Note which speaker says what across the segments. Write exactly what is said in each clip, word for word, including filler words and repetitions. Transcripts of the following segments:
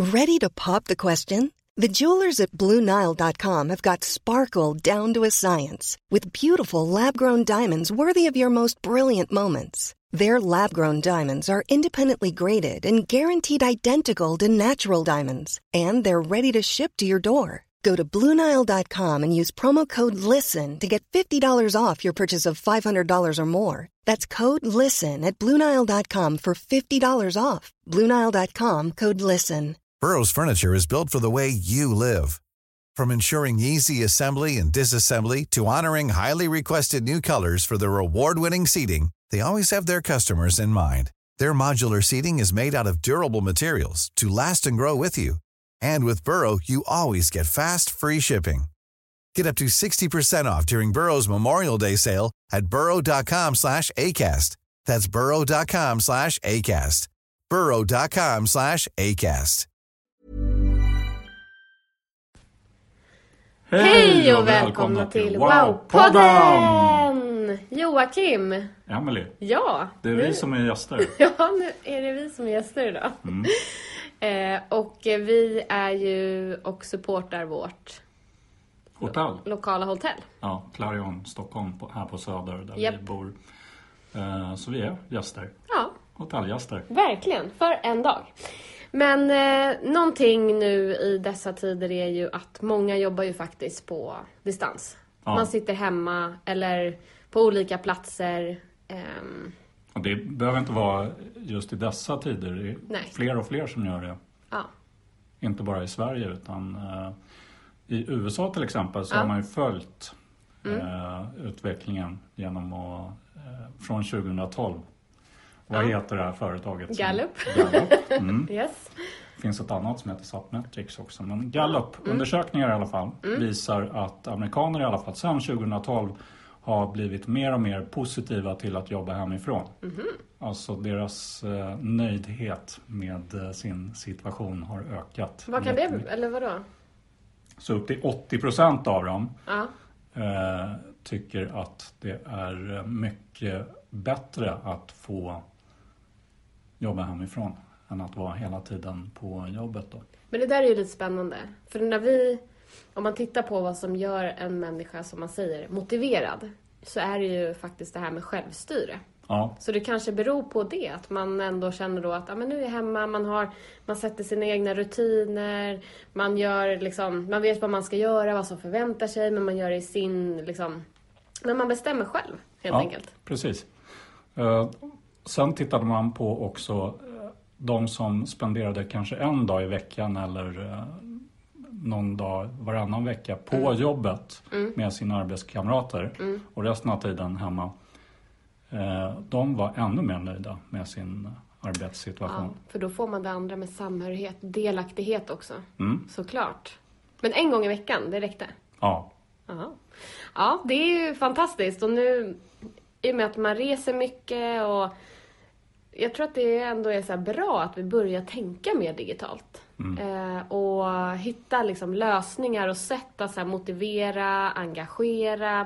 Speaker 1: Ready to pop the question? The jewelers at Blue Nile dot com have got sparkle down to a science with beautiful lab-grown diamonds worthy of your most brilliant moments. Their lab-grown diamonds are independently graded and guaranteed identical to natural diamonds, and they're ready to ship to your door. Go to Blue Nile dot com and use promo code LISTEN to get fifty dollars off your purchase of five hundred dollars or more. That's code LISTEN at Blue Nile dot com for fifty dollars off. Blue Nile dot com, code LISTEN.
Speaker 2: Burrow's furniture is built for the way you live. From ensuring easy assembly and disassembly to honoring highly requested new colors for their award-winning seating, they always have their customers in mind. Their modular seating is made out of durable materials to last and grow with you. And with Burrow, you always get fast, free shipping. Get up to sixty percent off during Burrow's Memorial Day sale at burrow dot com slash ACAST. That's burrow dot com slash ACAST. burrow dot com slash ACAST.
Speaker 3: Hej och välkomna till Wow-podden! Joakim!
Speaker 4: Emily.
Speaker 3: Ja.
Speaker 4: Det är
Speaker 3: nu...
Speaker 4: vi som är gäster.
Speaker 3: Ja, nu är det vi som är gäster idag. Mm. eh, och vi är ju och supportar vårt
Speaker 4: hotell.
Speaker 3: Lo- lokala hotell.
Speaker 4: Ja, Clarion Stockholm på, här på Söder där
Speaker 3: yep.
Speaker 4: vi bor. Eh, så vi är gäster.
Speaker 3: Ja.
Speaker 4: Hotellgäster.
Speaker 3: Verkligen, för en dag. Men eh, någonting nu i dessa tider är ju att många jobbar ju faktiskt på distans. Ja. Man sitter hemma eller på olika platser. Ehm.
Speaker 4: Och det behöver inte vara just i dessa tider. Det är Nej. fler och fler som gör det.
Speaker 3: Ja.
Speaker 4: Inte bara i Sverige utan eh, i U S A till exempel så
Speaker 3: ja.
Speaker 4: har man ju följt
Speaker 3: mm.
Speaker 4: eh, utvecklingen genom att, eh, från tjugohundratolv. Vad
Speaker 3: ja.
Speaker 4: heter det här företaget?
Speaker 3: Gallup.
Speaker 4: Gallup. Mm.
Speaker 3: Yes.
Speaker 4: Det finns ett annat som heter Sapmetrics också. Men Gallup-undersökningar mm. i alla fall mm. visar att amerikaner i alla fall sedan tjugohundratolv har blivit mer och mer positiva till att jobba hemifrån.
Speaker 3: Mm-hmm.
Speaker 4: Alltså deras eh, nöjdhet med eh, sin situation har ökat.
Speaker 3: Vad kan det, eller vadå?
Speaker 4: Så upp till åttio procent av dem
Speaker 3: ja.
Speaker 4: eh, tycker att det är mycket bättre att få jobba hemifrån än att vara hela tiden på jobbet då.
Speaker 3: Men det där är ju lite spännande. För när vi, om man tittar på vad som gör en människa, som man säger, motiverad, så är det ju faktiskt det här med självstyre.
Speaker 4: Ja.
Speaker 3: Så det kanske beror på det, att man ändå känner då att ja, men nu är jag hemma, man, har, man sätter sina egna rutiner, man, gör liksom, man vet vad man ska göra, vad som förväntar sig, men man gör det i sin, liksom, men man bestämmer själv helt
Speaker 4: ja,
Speaker 3: enkelt.
Speaker 4: Precis. Uh, sen tittade man på också uh, de som spenderade kanske en dag i veckan eller uh, någon dag varannan vecka på mm. jobbet mm. med sina arbetskamrater mm. och resten av tiden hemma. Uh, de var ännu mer nöjda med sin arbetssituation.
Speaker 3: Ja, för då får man det andra med samhörighet, delaktighet också.
Speaker 4: Mm.
Speaker 3: Såklart. Men en gång i veckan, det räckte?
Speaker 4: Ja.
Speaker 3: Aha. Ja, det är ju fantastiskt. Och nu, i och med att man reser mycket, och jag tror att det ändå är så här bra att vi börjar tänka mer digitalt.
Speaker 4: Mm.
Speaker 3: Eh, och hitta liksom lösningar och sätt att så här motivera, engagera,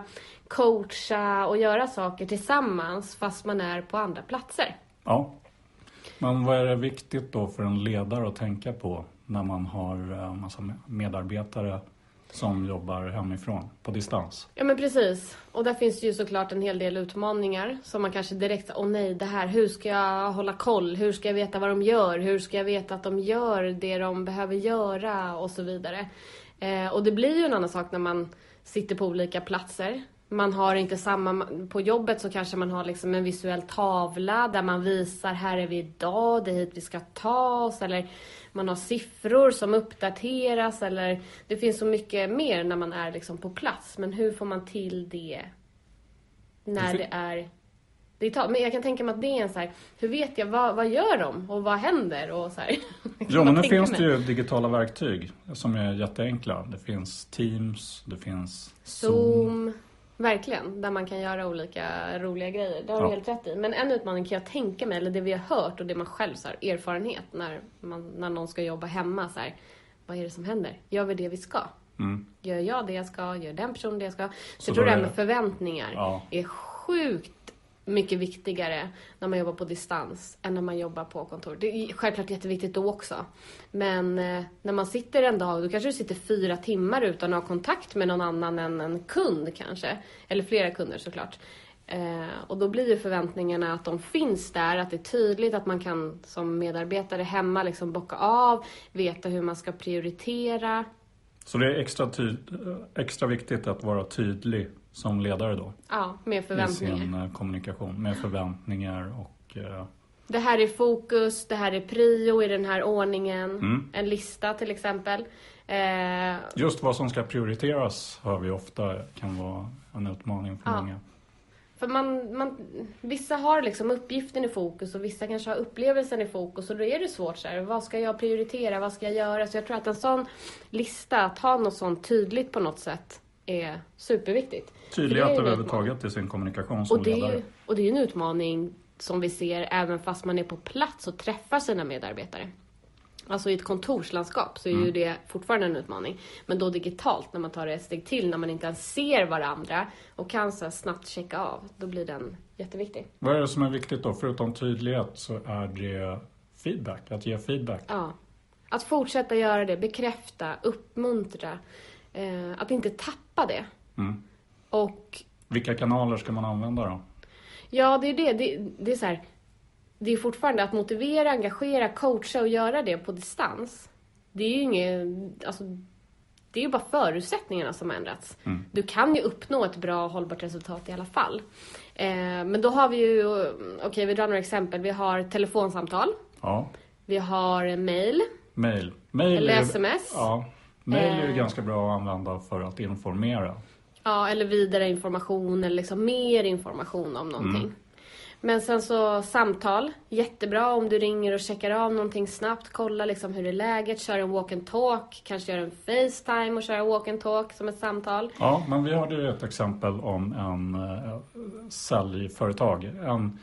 Speaker 3: coacha och göra saker tillsammans fast man är på andra platser.
Speaker 4: Ja. Men vad är det viktigt då för en ledare att tänka på när man har en massa medarbetare som jobbar hemifrån på distans?
Speaker 3: Ja, men precis. Och där finns ju såklart en hel del utmaningar som man kanske direkt, åh nej, det här, hur ska jag hålla koll? Hur ska jag veta vad de gör? Hur ska jag veta att de gör det de behöver göra? Och så vidare. Eh, och det blir ju en annan sak när man sitter på olika platser. Man har inte samma, på jobbet så kanske man har liksom en visuell tavla där man visar, här är vi idag, det är hit vi ska ta oss, eller man har siffror som uppdateras, eller det finns så mycket mer när man är liksom på plats. Men hur får man till det när det, det är digitalt? Men jag kan tänka mig att det är en så här, hur vet jag, vad, vad gör de och vad händer och så här.
Speaker 4: Ja, men nu finns det ju digitala verktyg som är jätteenkla. Det finns Teams, det finns Zoom.
Speaker 3: Zoom. Verkligen, där man kan göra olika roliga grejer. Det har du
Speaker 4: ja.
Speaker 3: helt rätt i. Men en utmaning kan jag tänka mig, eller det vi har hört och det man själv så här, erfarenhet när, man, när någon ska jobba hemma. Så här, vad är det som händer? Gör vi det vi ska?
Speaker 4: Mm.
Speaker 3: Gör jag det jag ska? Gör den personen det jag ska? Så,
Speaker 4: så
Speaker 3: jag tror det här
Speaker 4: är...
Speaker 3: med förväntningar
Speaker 4: ja.
Speaker 3: är sjukt mycket viktigare när man jobbar på distans än när man jobbar på kontor. Det är självklart jätteviktigt då också. Men eh, när man sitter en dag, då kanske du sitter fyra timmar utan att ha kontakt med någon annan än en kund kanske. Eller flera kunder såklart. Eh, och då blir ju förväntningarna att de finns där, att det är tydligt att man kan som medarbetare hemma liksom bocka av, veta hur man ska prioritera.
Speaker 4: Så det är extra, ty- extra viktigt att vara tydlig som ledare då?
Speaker 3: Ja, med förväntningar.
Speaker 4: I sin uh, kommunikation, med förväntningar och... Uh...
Speaker 3: Det här är fokus, det här är prio i den här ordningen.
Speaker 4: Mm.
Speaker 3: En lista till exempel. Eh...
Speaker 4: Just vad som ska prioriteras hör vi ofta kan vara en utmaning för
Speaker 3: ja.
Speaker 4: många.
Speaker 3: För man, man, vissa har liksom uppgiften i fokus och vissa kanske har upplevelsen i fokus. Och då är det svårt så här, vad ska jag prioritera, vad ska jag göra? Så jag tror att en sån lista, att ha något sånt tydligt på något sätt, är superviktigt.
Speaker 4: Tydlighet överhuvudtaget i sin kommunikation som
Speaker 3: och det
Speaker 4: ledare.
Speaker 3: Är, och det är en utmaning som vi ser även fast man är på plats och träffar sina medarbetare. Alltså i ett kontorslandskap så är mm. ju det fortfarande en utmaning. Men då digitalt, när man tar det ett steg till, när man inte ens ser varandra och kan så snabbt checka av, då blir den jätteviktig.
Speaker 4: Vad är det som är viktigt då? Förutom tydlighet så är det feedback, att ge feedback.
Speaker 3: Ja, att fortsätta göra det, bekräfta, uppmuntra, eh, att inte tappa det.
Speaker 4: Mm.
Speaker 3: Och
Speaker 4: vilka kanaler ska man använda då?
Speaker 3: Ja, det är det. Det, det är så här... Det är fortfarande att motivera, engagera, coacha och göra det på distans. Det är ju inget, alltså, det är ju bara förutsättningarna som har ändrats. Mm. Du kan ju uppnå ett bra och hållbart resultat i alla fall. Eh, men då har vi ju, okej okay, vi drar några exempel. Vi har telefonsamtal.
Speaker 4: Ja.
Speaker 3: Vi har mail.
Speaker 4: Mail. mail
Speaker 3: eller
Speaker 4: är,
Speaker 3: sms.
Speaker 4: Ja, mail är ju
Speaker 3: eh,
Speaker 4: ganska bra att använda för att informera.
Speaker 3: Ja, eller vidare information eller liksom mer information om någonting. Mm. Men sen så samtal, jättebra om du ringer och checkar av någonting snabbt, kolla liksom hur det är läget, kör en walk and talk, kanske gör en FaceTime och kör en walk and talk som ett samtal.
Speaker 4: Ja, men vi hade ju ett exempel om en äh, säljföretag, en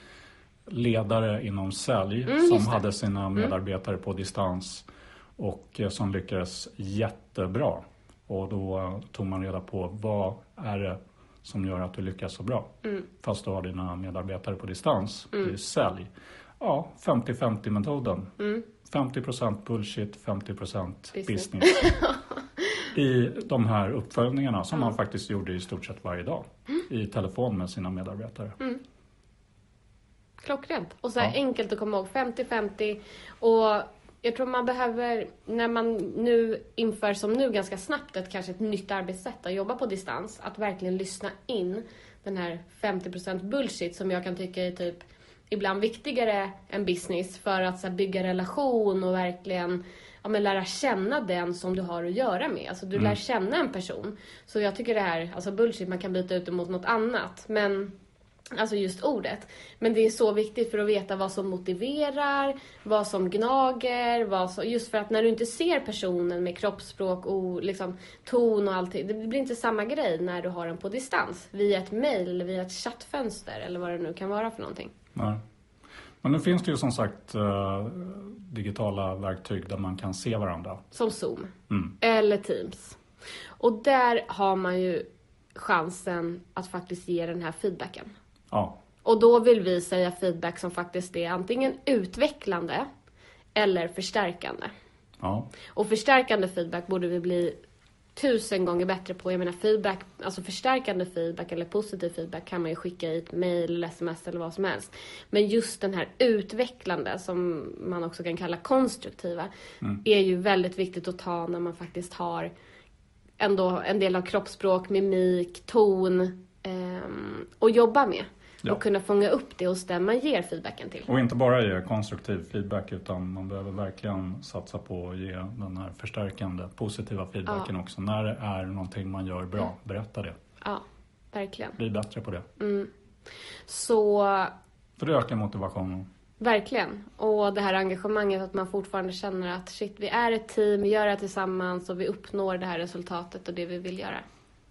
Speaker 4: ledare inom sälj
Speaker 3: mm,
Speaker 4: som hade sina medarbetare mm. på distans och äh, som lyckades jättebra. Och då äh, tog man reda på vad är det som gör att du lyckas så bra. Mm. Fast du har dina medarbetare på distans. Mm. Det är sälj. Ja, femtio femtio metoden. Mm. femtio procent bullshit, femtio procent business. business. I de här uppföljningarna som mm. man faktiskt gjorde i stort sett varje dag. Mm. I telefon med sina medarbetare. Mm.
Speaker 3: Klockrent. Och så här ja. enkelt att komma ihåg. femtio femtio. Och jag tror man behöver, när man nu inför som nu ganska snabbt ett kanske ett nytt arbetssätt att jobba på distans, att verkligen lyssna in den här femtio procent bullshit som jag kan tycka är typ ibland viktigare än business för att så här, bygga relation och verkligen ja, men lära känna den som du har att göra med. Alltså du mm. lär känna en person. Så jag tycker det här, alltså bullshit, man kan byta ut det mot något annat. Men alltså just ordet. Men det är så viktigt för att veta vad som motiverar, vad som gnager, vad som, just för att när du inte ser personen med kroppsspråk och liksom ton och allting, det blir inte samma grej när du har den på distans. Via ett mejl eller via ett chattfönster eller vad det nu kan vara för någonting.
Speaker 4: Nej. Men nu finns det ju som sagt uh, digitala verktyg där man kan se varandra.
Speaker 3: Som Zoom. Mm. Eller Teams. Och där har man ju chansen att faktiskt ge den här feedbacken.
Speaker 4: Ja.
Speaker 3: Och då vill vi säga feedback som faktiskt är antingen utvecklande eller förstärkande.
Speaker 4: Ja.
Speaker 3: Och förstärkande feedback borde vi bli tusen gånger bättre på. Jag menar feedback, alltså förstärkande feedback eller positiv feedback kan man ju skicka i ett mejl eller sms eller vad som helst. Men just den här utvecklande som man också kan kalla konstruktiva mm. är ju väldigt viktigt att ta när man faktiskt har ändå en del av kroppsspråk, mimik, ton Um, och jobba med. Ja. Och kunna fånga upp det hos den man ger feedbacken till.
Speaker 4: Och inte bara ge konstruktiv feedback utan man behöver verkligen satsa på att ge den här förstärkande, positiva feedbacken ja. också. När det är någonting man gör bra, berätta det.
Speaker 3: Ja, verkligen.
Speaker 4: Bli bättre på det.
Speaker 3: Mm. Så...
Speaker 4: För det ökar motivationen.
Speaker 3: Verkligen. Och det här engagemanget att man fortfarande känner att shit, vi är ett team, vi gör det tillsammans och vi uppnår det här resultatet och det vi vill göra.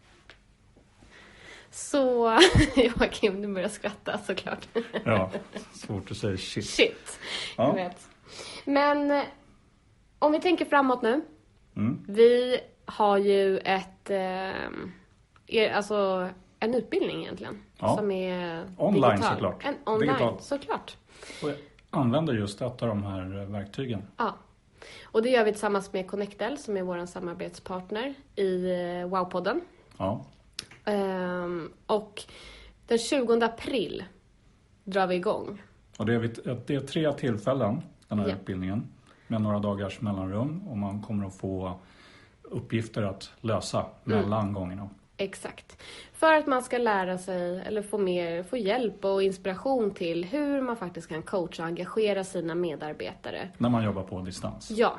Speaker 3: Så, Joakim, du börjar skratta såklart.
Speaker 4: Ja, svårt att säga shit.
Speaker 3: Shit,
Speaker 4: ja.
Speaker 3: jag vet. Men om vi tänker framåt nu.
Speaker 4: Mm.
Speaker 3: Vi har ju ett, eh, er, alltså en utbildning egentligen.
Speaker 4: Ja.
Speaker 3: Som är
Speaker 4: online
Speaker 3: digital.
Speaker 4: såklart.
Speaker 3: En online
Speaker 4: Digital.
Speaker 3: såklart.
Speaker 4: Och jag använder just ett av de här verktygen.
Speaker 3: Ja. Och det gör vi tillsammans med Connectel som är vår samarbetspartner i Wow-podden.
Speaker 4: Ja.
Speaker 3: Um, och den tjugonde april drar vi igång.
Speaker 4: Och det är, det är tre tillfällen, den här
Speaker 3: ja.
Speaker 4: utbildningen. Med några dagars mellanrum. Och man kommer att få uppgifter att lösa mellan mm. gångerna.
Speaker 3: Exakt. För att man ska lära sig eller få, mer, få hjälp och inspiration till hur man faktiskt kan coacha och engagera sina medarbetare.
Speaker 4: När man jobbar på distans.
Speaker 3: Ja.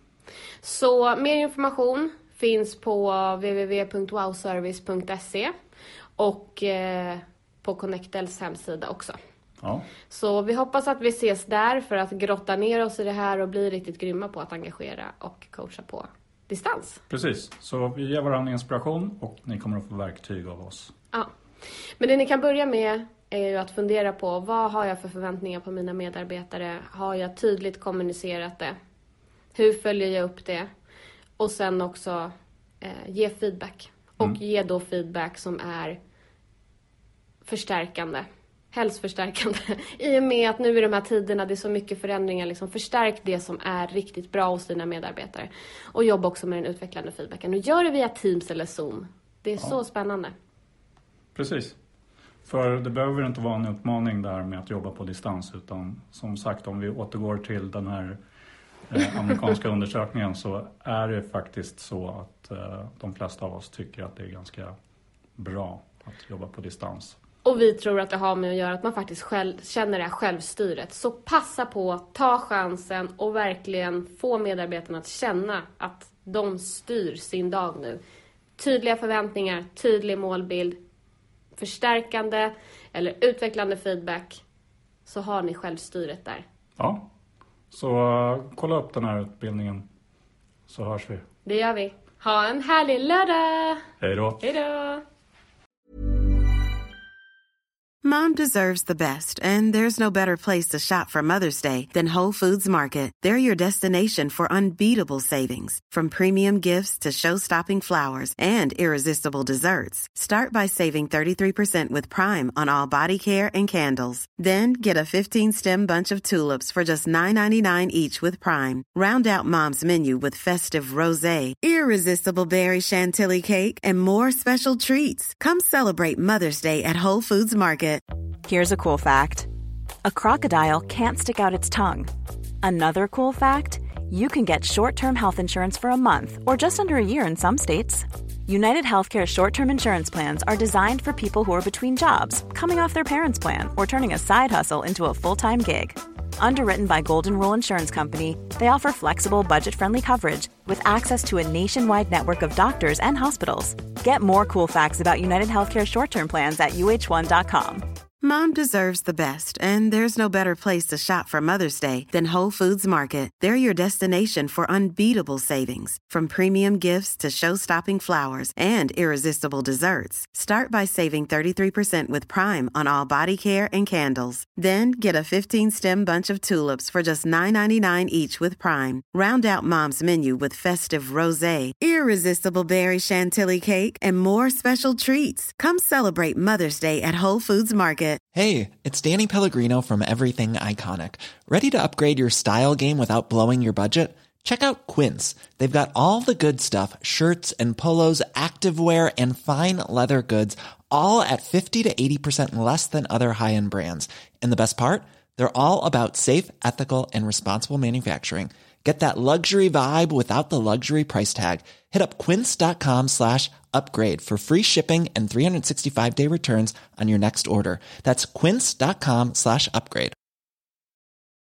Speaker 3: Så mer information finns på w w w punkt wow service punkt se och eh, på Connectels hemsida också.
Speaker 4: Ja.
Speaker 3: Så vi hoppas att vi ses där för att grotta ner oss i det här och bli riktigt grymma på att engagera och coacha på distans.
Speaker 4: Precis, så vi ger varandra inspiration och ni kommer att få verktyg av oss.
Speaker 3: Ja, men det ni kan börja med är ju att fundera på vad har jag för förväntningar på mina medarbetare? Har jag tydligt kommunicerat det? Hur följer jag upp det? Och sen också eh, ge feedback. Och mm. ge då feedback som är förstärkande. Hälsförstärkande. I och med att nu i de här tiderna det är så mycket förändringar. Liksom förstärk det som är riktigt bra hos dina medarbetare. Och jobba också med den utvecklande feedbacken. Och gör det via Teams eller Zoom. Det är ja. så spännande.
Speaker 4: Precis. För det behöver inte vara en utmaning där med att jobba på distans. Utan som sagt, om vi återgår till den här eh, amerikanska undersökningen så är det faktiskt så att eh, de flesta av oss tycker att det är ganska bra att jobba på distans.
Speaker 3: Och vi tror att det har med att göra att man faktiskt själv, känner det här självstyret. Så passa på, ta chansen och verkligen få medarbetarna att känna att de styr sin dag nu. Tydliga förväntningar, tydlig målbild, förstärkande eller utvecklande feedback. Så har ni självstyret där.
Speaker 4: Ja, så uh, kolla upp den här utbildningen så hörs vi.
Speaker 3: Det gör vi. Ha en härlig lördag!
Speaker 4: Hej då!
Speaker 3: Hej då!
Speaker 5: Mom deserves the best, and there's no better place to shop for Mother's Day than Whole Foods Market. They're your destination for unbeatable savings, from premium gifts to show-stopping flowers and irresistible desserts. Start by saving thirty-three percent with Prime on all body care and candles. Then get a fifteen-stem bunch of tulips for just nine ninety-nine each with Prime. Round out Mom's menu with festive rosé, irresistible berry chantilly cake, and more special treats. Come celebrate Mother's Day at Whole Foods Market.
Speaker 6: Here's a cool fact. A crocodile can't stick out its tongue. Another cool fact, you can get short-term health insurance for a month or just under a year in some states. United Healthcare short-term insurance plans are designed for people who are between jobs, coming off their parents' plan, or turning a side hustle into a full-time gig. Underwritten by Golden Rule Insurance Company, they offer flexible, budget-friendly coverage with access to a nationwide network of doctors and hospitals. Get more cool facts about United Healthcare short-term plans at U H one dot com.
Speaker 5: Mom deserves the best, and there's no better place to shop for Mother's Day than Whole Foods Market. They're your destination for unbeatable savings, from premium gifts to show-stopping flowers and irresistible desserts. Start by saving thirty-three percent with Prime on all body care and candles. Then get a fifteen-stem bunch of tulips for just nine ninety-nine each with Prime. Round out Mom's menu with festive rosé, irresistible berry chantilly cake, and more special treats. Come celebrate Mother's Day at Whole Foods Market.
Speaker 7: Hey, it's Danny Pellegrino from Everything Iconic. Ready to upgrade your style game without blowing your budget? Check out Quince. They've got all the good stuff, shirts and polos, activewear, and fine leather goods, all at fifty to eighty percent less than other high-end brands. And the best part? They're all about safe, ethical, and responsible manufacturing. Get that luxury vibe without the luxury price tag. Hit up quince.com slash upgrade for free shipping and three sixty-five day returns on your next order. That's quince.com slash upgrade.